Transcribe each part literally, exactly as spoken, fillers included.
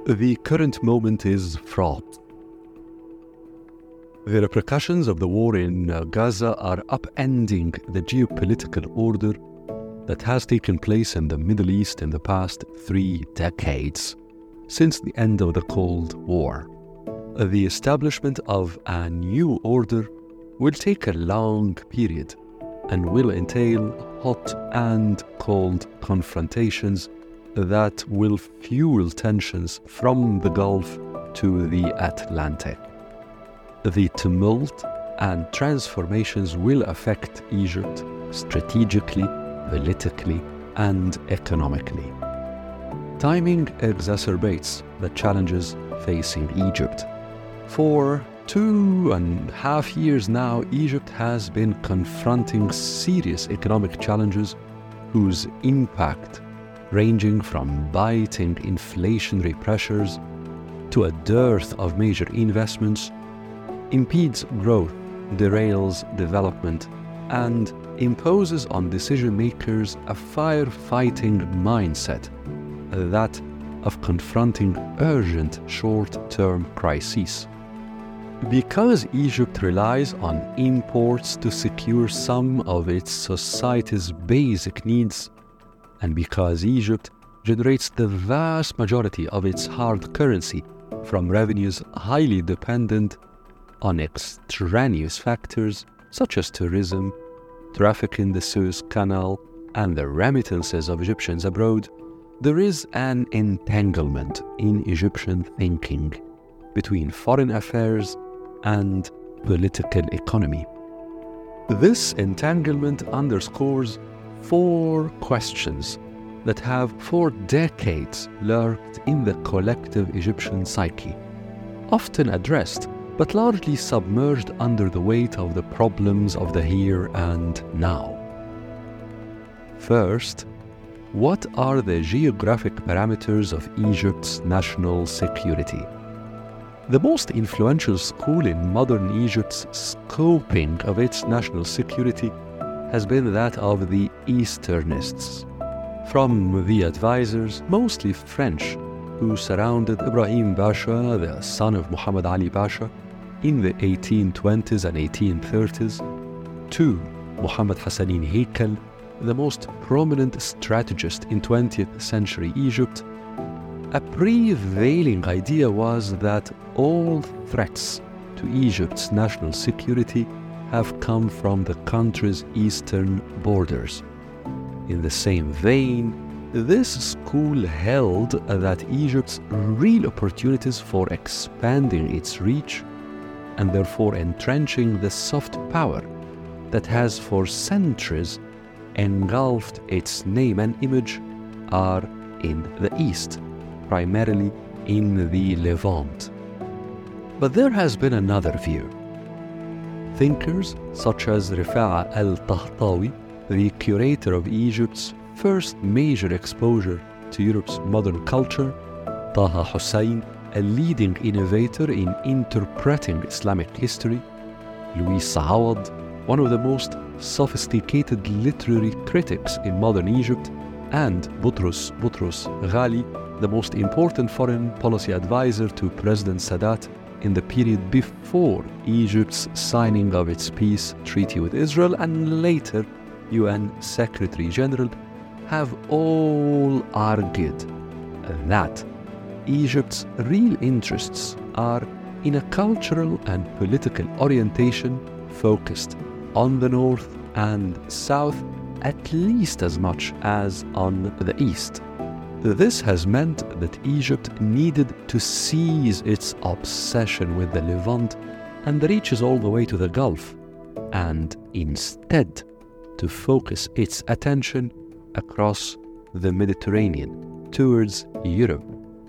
The current moment is fraught. The repercussions of the war in uh, Gaza are upending the geopolitical order that has taken place in the Middle East in the past three decades, since the end of the Cold War. The establishment of a new order will take a long period and will entail hot and cold confrontations that will fuel tensions from the Gulf to the Atlantic. The tumult and transformations will affect Egypt strategically, politically, and economically. Timing exacerbates the challenges facing Egypt. For two and a half years now, Egypt has been confronting serious economic challenges whose impact, ranging from biting inflationary pressures to a dearth of major investments, impedes growth, derails development, and imposes on decision-makers a firefighting mindset, that of confronting urgent short-term crises. Because Egypt relies on imports to secure some of its society's basic needs, and because Egypt generates the vast majority of its hard currency from revenues highly dependent on extraneous factors such as tourism, traffic in the Suez Canal, and the remittances of Egyptians abroad, there is an entanglement in Egyptian thinking between foreign affairs and political economy. This entanglement underscores four questions that have for decades lurked in the collective Egyptian psyche, often addressed but largely submerged under the weight of the problems of the here and now. First, what are the geographic parameters of Egypt's national security? The most influential school in modern Egypt's scoping of its national security has been that of the Easternists. From the advisors, mostly French, who surrounded Ibrahim Pasha, the son of Muhammad Ali Pasha, in the eighteen twenties and eighteen thirties, to Muhammad Hassanin Haikal, the most prominent strategist in twentieth century Egypt, a prevailing idea was that all threats to Egypt's national security have come from the country's eastern borders. In the same vein, this school held that Egypt's real opportunities for expanding its reach and therefore entrenching the soft power that has for centuries engulfed its name and image are in the East, primarily in the Levant. But there has been another view. Thinkers such as Rifa'a al-Tahtawi, the curator of Egypt's first major exposure to Europe's modern culture, Taha Hussein, a leading innovator in interpreting Islamic history, Louis Saawad, one of the most sophisticated literary critics in modern Egypt, and Boutros Boutros Ghali, the most important foreign policy advisor to President Sadat in the period before Egypt's signing of its peace treaty with Israel and later U N Secretary General, have all argued that Egypt's real interests are in a cultural and political orientation focused on the north and south at least as much as on the east. This has meant that Egypt needed to cease its obsession with the Levant and the reaches all the way to the Gulf, and instead to focus its attention across the Mediterranean towards Europe,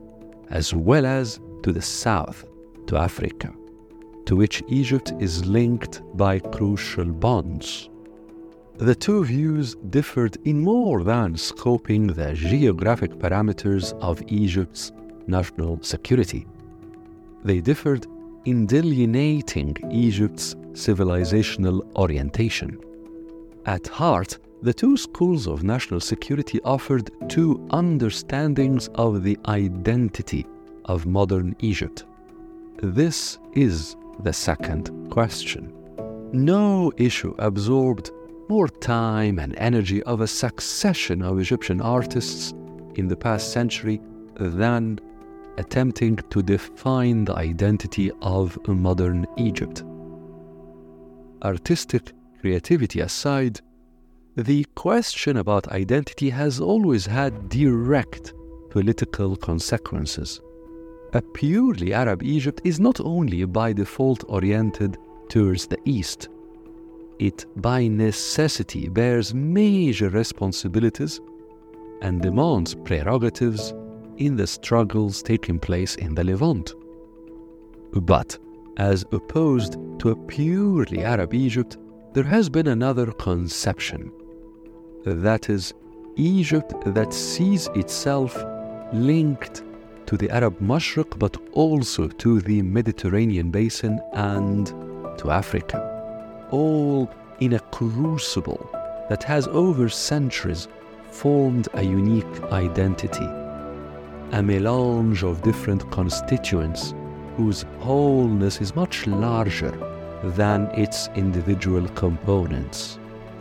as well as to the south, to Africa, to which Egypt is linked by crucial bonds. The two views differed in more than scoping the geographic parameters of Egypt's national security. They differed in delineating Egypt's civilizational orientation. At heart, the two schools of national security offered two understandings of the identity of modern Egypt? This is the second question. No issue absorbed more time and energy of a succession of Egyptian artists in the past century than attempting to define the identity of modern Egypt. Artistic creativity aside, the question about identity has always had direct political consequences. A purely Arab Egypt is not only by default oriented towards the East, it by necessity bears major responsibilities and demands prerogatives in the struggles taking place in the Levant. But as opposed to a purely Arab Egypt, there has been another conception. That is, Egypt that sees itself linked to the Arab Mashriq, but also to the Mediterranean basin and to Africa, all in a crucible that has over centuries formed a unique identity, a melange of different constituents whose wholeness is much larger than its individual components.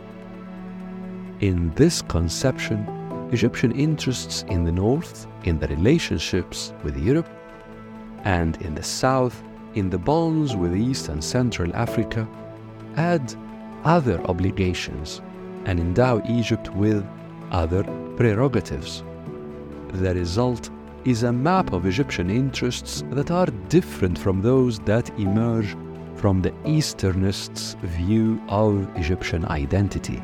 In this conception, Egyptian interests in the north, in the relationships with Europe, and in the south, in the bonds with East and Central Africa, add other obligations and endow Egypt with other prerogatives. The result is a map of Egyptian interests that are different from those that emerge from the Easternists' view of Egyptian identity.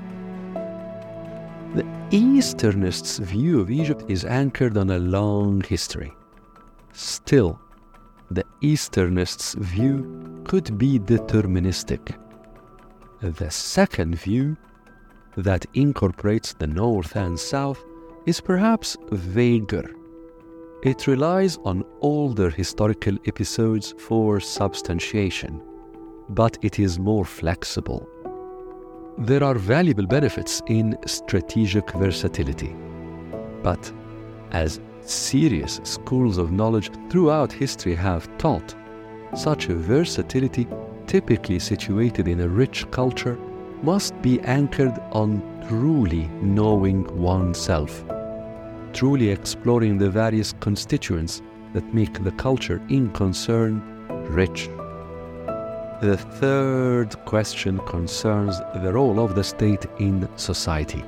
The Easternists' view of Egypt is anchored on a long history. Still, the Easternists' view could be deterministic. The second view, that incorporates the North and South, is perhaps vaguer. It relies on older historical episodes for substantiation, but it is more flexible. There are valuable benefits in strategic versatility, but as serious schools of knowledge throughout history have taught, such a versatility, typically situated in a rich culture, must be anchored on truly knowing oneself, truly exploring the various constituents that make the culture in concern rich. The third question concerns the role of the state in society.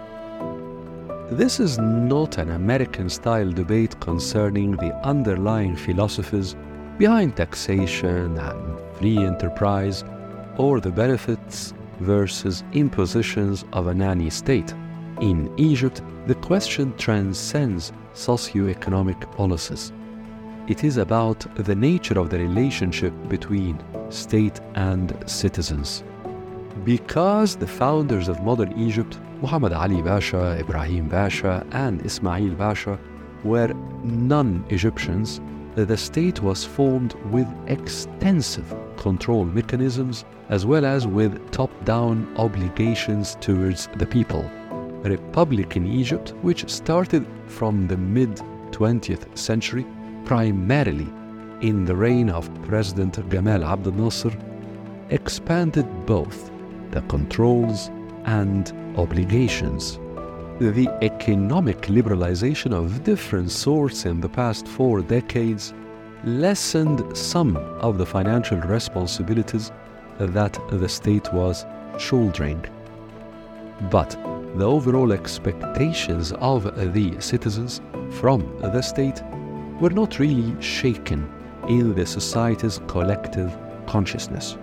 This is not an American-style debate concerning the underlying philosophies behind taxation and free enterprise, or the benefits versus impositions of a nanny state. In Egypt, the question transcends socio-economic policies. It is about the nature of the relationship between state and citizens. Because the founders of modern Egypt, Muhammad Ali Pasha, Ibrahim Pasha, and Ismail Pasha, were non-Egyptians, the state was formed with extensive control mechanisms as well as with top-down obligations towards the people. Republican Egypt, which started from the mid-twentieth century, primarily in the reign of President Gamal Abdel Nasser, expanded both the controls and obligations. The economic liberalization of different sorts in the past four decades lessened some of the financial responsibilities that the state was shouldering. But the overall expectations of the citizens from the state were not really shaken in the society's collective consciousness.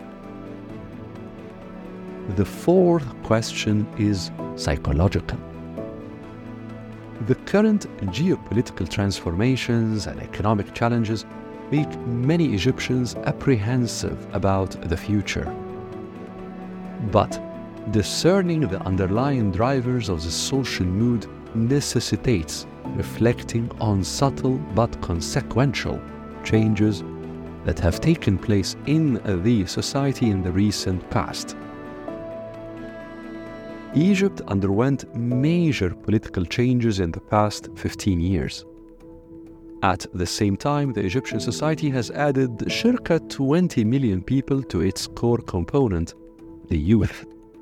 The fourth question is psychological. The current geopolitical transformations and economic challenges make many Egyptians apprehensive about the future. But discerning the underlying drivers of the social mood necessitates reflecting on subtle but consequential changes that have taken place in the society in the recent past. Egypt underwent major political changes in the past fifteen years. At the same time, the Egyptian society has added circa twenty million people to its core component, the youth.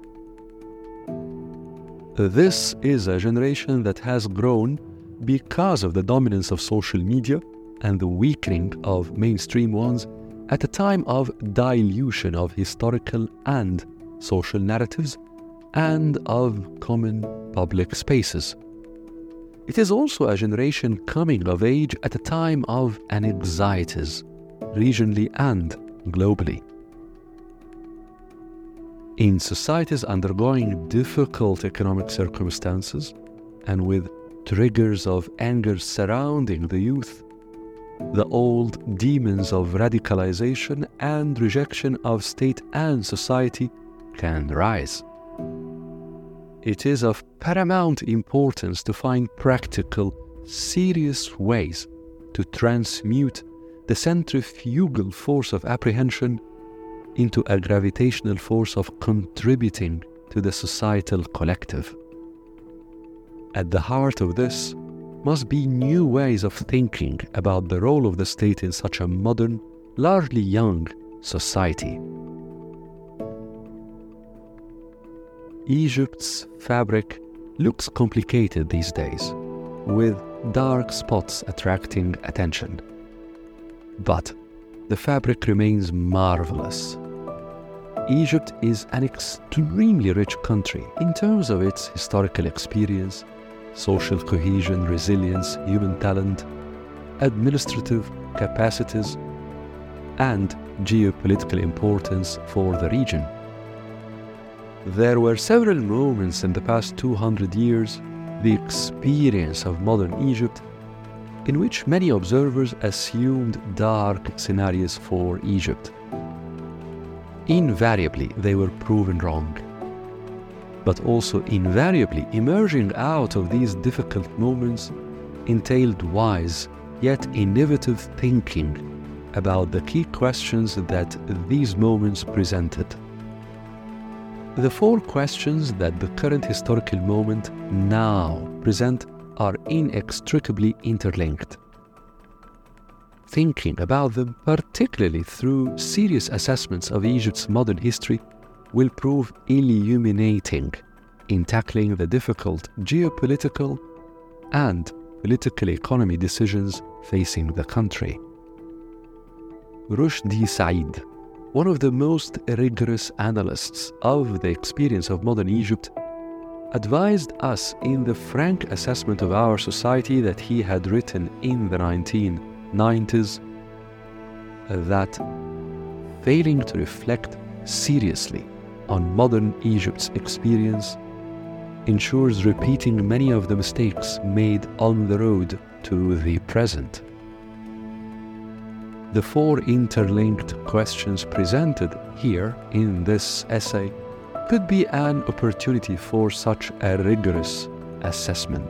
This is a generation that has grown because of the dominance of social media and the weakening of mainstream ones at a time of dilution of historical and social narratives and of common public spaces. It is also a generation coming of age at a time of anxieties, regionally and globally. In societies undergoing difficult economic circumstances and with triggers of anger surrounding the youth, the old demons of radicalization and rejection of state and society can rise. It is of paramount importance to find practical, serious ways to transmute the centrifugal force of apprehension into a gravitational force of contributing to the societal collective. At the heart of this must be new ways of thinking about the role of the state in such a modern, largely young society. Egypt's fabric looks complicated these days, with dark spots attracting attention. But the fabric remains marvelous. Egypt is an extremely rich country in terms of its historical experience, social cohesion, resilience, human talent, administrative capacities, and geopolitical importance for the region. There were several moments in the past two hundred years, the experience of modern Egypt, in which many observers assumed dark scenarios for Egypt. Invariably, they were proven wrong. But also invariably, emerging out of these difficult moments entailed wise yet innovative thinking about the key questions that these moments presented. The four questions that the current historical moment now present are inextricably interlinked. Thinking about them, particularly through serious assessments of Egypt's modern history, will prove illuminating in tackling the difficult geopolitical and political economy decisions facing the country. Rushdie Said, one of the most rigorous analysts of the experience of modern Egypt, advised us in the frank assessment of our society that he had written in the nineteen nineties that failing to reflect seriously on modern Egypt's experience ensures repeating many of the mistakes made on the road to the present. The four interlinked questions presented here in this essay could be an opportunity for such a rigorous assessment.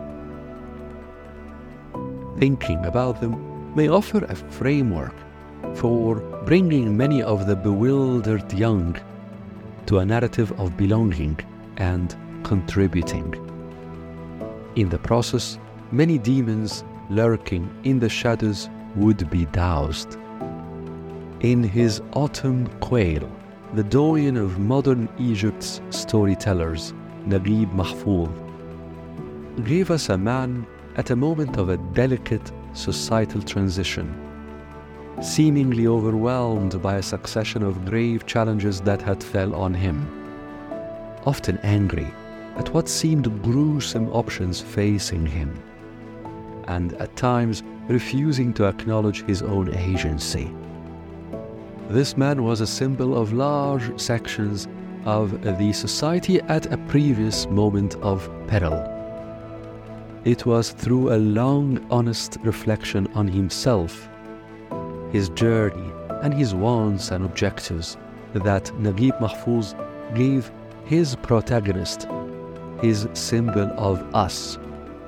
Thinking about them may offer a framework for bringing many of the bewildered young to a narrative of belonging and contributing. In the process, many demons lurking in the shadows would be doused. In his Autumn Quail, the doyen of modern Egypt's storytellers, Naguib Mahfouz, gave us a man at a moment of a delicate societal transition, seemingly overwhelmed by a succession of grave challenges that had fell on him, often angry at what seemed gruesome options facing him, and at times refusing to acknowledge his own agency. This man was a symbol of large sections of the society at a previous moment of peril. It was through a long, honest reflection on himself, his journey, and his wants and objectives that Naguib Mahfouz gave his protagonist, his symbol of us,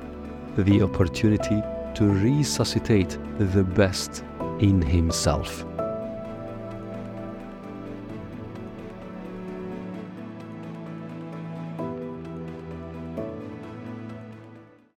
the opportunity to resuscitate the best in himself.